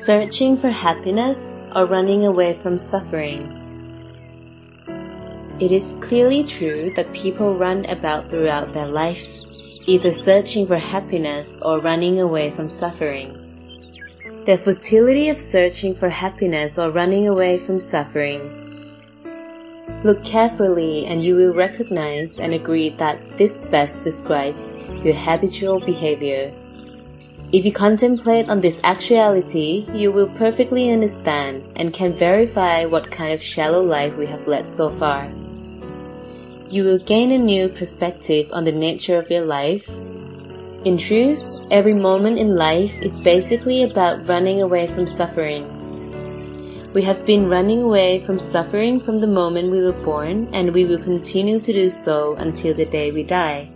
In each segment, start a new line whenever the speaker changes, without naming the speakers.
Searching for happiness or running away from suffering. It is clearly true that people run about throughout their life, either searching for happiness or running away from suffering. The futility of searching for happiness or running away from suffering. Look carefully and you will recognize and agree that this best describes your habitual behavior. If you contemplate on this actuality, you will perfectly understand and can verify what kind of shallow life we have led so far. You will gain a new perspective on the nature of your life. In truth, every moment in life is basically about running away from suffering. We have been running away from suffering from the moment we were born, and we will continue to do so until the day we die.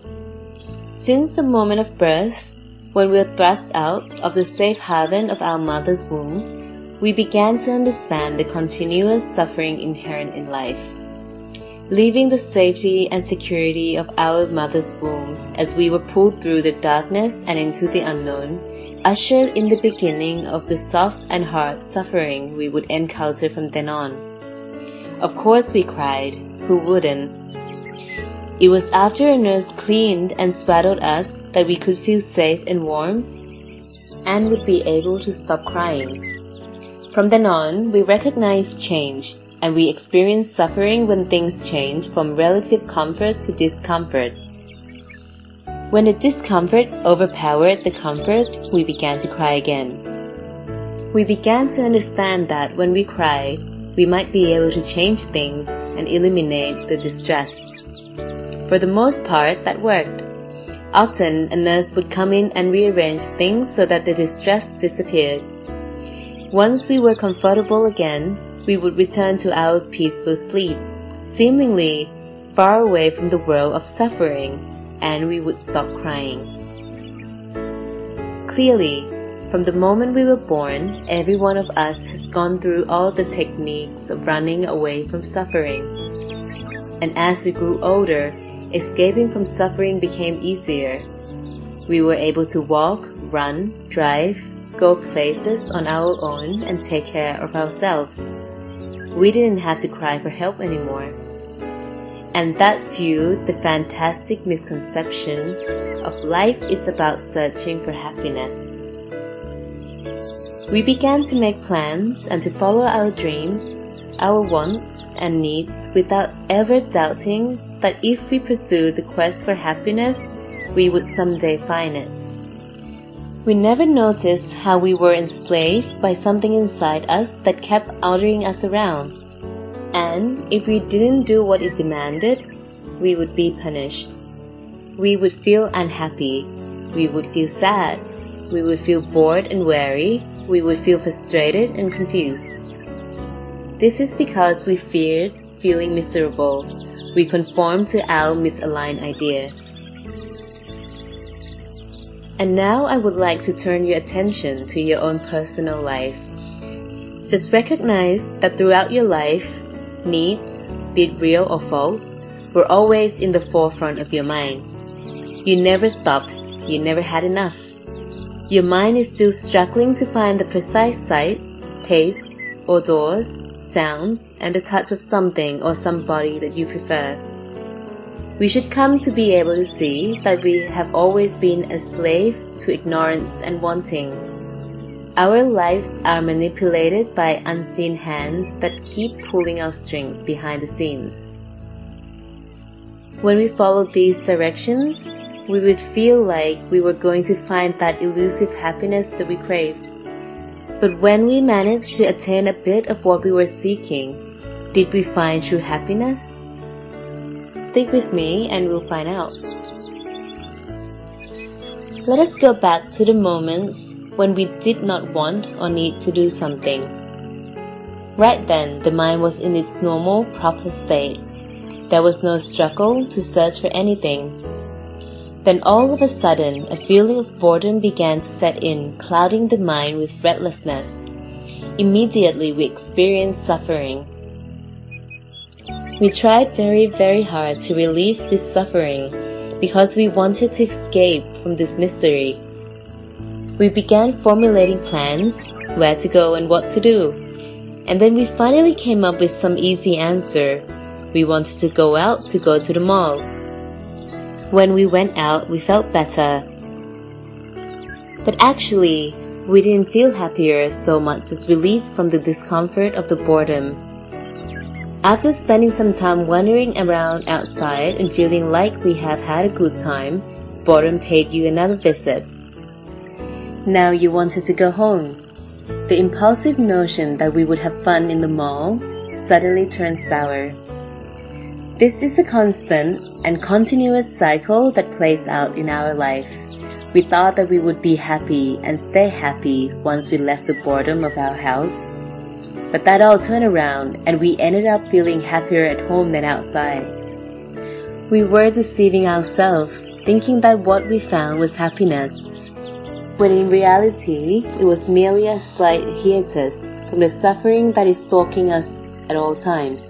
Since the moment of birth, when we were thrust out of the safe haven of our mother's womb, we began to understand the continuous suffering inherent in life. Leaving the safety and security of our mother's womb as we were pulled through the darkness and into the unknown, ushered in the beginning of the soft and hard suffering we would encounter from then on. Of course we cried. Who wouldn't? It was after a nurse cleaned and swaddled us that we could feel safe and warm and would be able to stop crying. From then on, we recognized change, and we experienced suffering when things change from relative comfort to discomfort. When the discomfort overpowered the comfort, we began to cry again. We began to understand that when we cried, we might be able to change things and eliminate the distress. For the most part, that worked. Often, a nurse would come in and rearrange things so that the distress disappeared. Once we were comfortable again, we would return to our peaceful sleep, seemingly far away from the world of suffering, and we would stop crying. Clearly, from the moment we were born, every one of us has gone through all the techniques of running away from suffering. And as we grew older, escaping from suffering became easier. We were able to walk, run, drive, go places on our own and take care of ourselves. We didn't have to cry for help anymore. And that fueled the fantastic misconception of life is about searching for happiness. We began to make plans and to follow our dreams, our wants and needs without ever doubting that if we pursued the quest for happiness, we would someday find it. We never noticed how we were enslaved by something inside us that kept ordering us around. And if we didn't do what it demanded, we would be punished. We would feel unhappy. We would feel sad. We would feel bored and weary. We would feel frustrated and confused. This is because we feared feeling miserable. We conformed to our misaligned idea. And now I would like to turn your attention to your own personal life. Just recognize that throughout your life, needs, be it real or false, were always in the forefront of your mind. You never stopped. You never had enough. Your mind is still struggling to find the precise sights, tastes, odors, sounds, and the touch of something or somebody that you prefer. We should come to be able to see that we have always been a slave to ignorance and wanting. Our lives are manipulated by unseen hands that keep pulling our strings behind the scenes. When we followed these directions, we would feel like we were going to find that elusive happiness that we craved. But when we managed to attain a bit of what we were seeking, did we find true happiness? Stick with me and we'll find out. Let us go back to the moments when we did not want or need to do something. Right then, the mind was in its normal, proper state. There was no struggle to search for anything. Then all of a sudden, a feeling of boredom began to set in, clouding the mind with restlessness. Immediately, we experienced suffering. We tried very, very hard to relieve this suffering because we wanted to escape from this misery. We began formulating plans, where to go and what to do. And then we finally came up with some easy answer. We wanted to go out to go to the mall. When we went out, we felt better. But actually, we didn't feel happier so much as relief from the discomfort of the boredom. After spending some time wandering around outside and feeling like we have had a good time, boredom paid you another visit. Now you wanted to go home. The impulsive notion that we would have fun in the mall suddenly turned sour. This is a constant and continuous cycle that plays out in our life. We thought that we would be happy and stay happy once we left the boredom of our house. But that all turned around and we ended up feeling happier at home than outside. We were deceiving ourselves, thinking that what we found was happiness, when in reality it was merely a slight hiatus from the suffering that is stalking us at all times.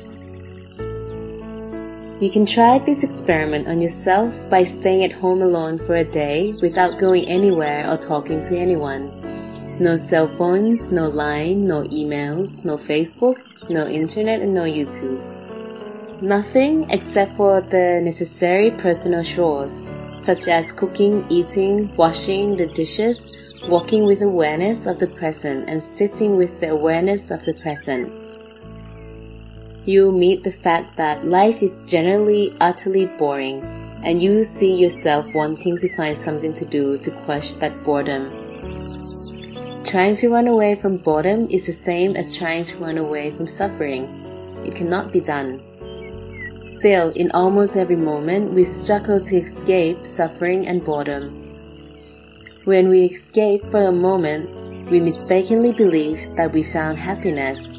You can try this experiment on yourself by staying at home alone for a day without going anywhere or talking to anyone. No cell phones, no Line, no emails, no Facebook, no internet, and no YouTube. Nothing except for the necessary personal chores, such as cooking, eating, washing the dishes, walking with awareness of the present, and sitting with the awareness of the present. You'll meet the fact that life is generally utterly boring, and you see yourself wanting to find something to do to quench that boredom. Trying to run away from boredom is the same as trying to run away from suffering. It cannot be done. Still, in almost every moment, we struggle to escape suffering and boredom. When we escape for a moment, we mistakenly believe that we found happiness.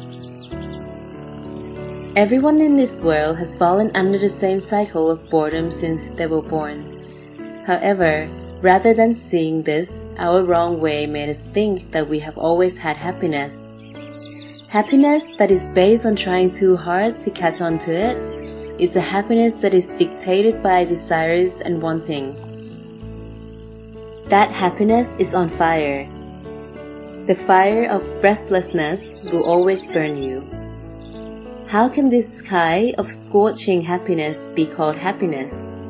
Everyone in this world has fallen under the same cycle of boredom since they were born. However, rather than seeing this, our wrong way made us think that we have always had happiness. Happiness that is based on trying too hard to catch on to it is a happiness that is dictated by desires and wanting. That happiness is on fire. The fire of restlessness will always burn you. How can this sky of scorching happiness be called happiness?